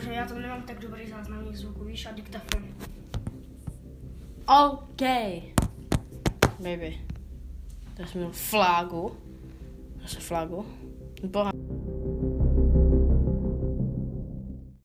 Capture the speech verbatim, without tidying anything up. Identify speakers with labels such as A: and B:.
A: Protože já tam nemám tak dobrý záznamník zvuku, víš, a diktafon.
B: OK. Baby. Tak jsem měl flágu. Zase flágu. Boha.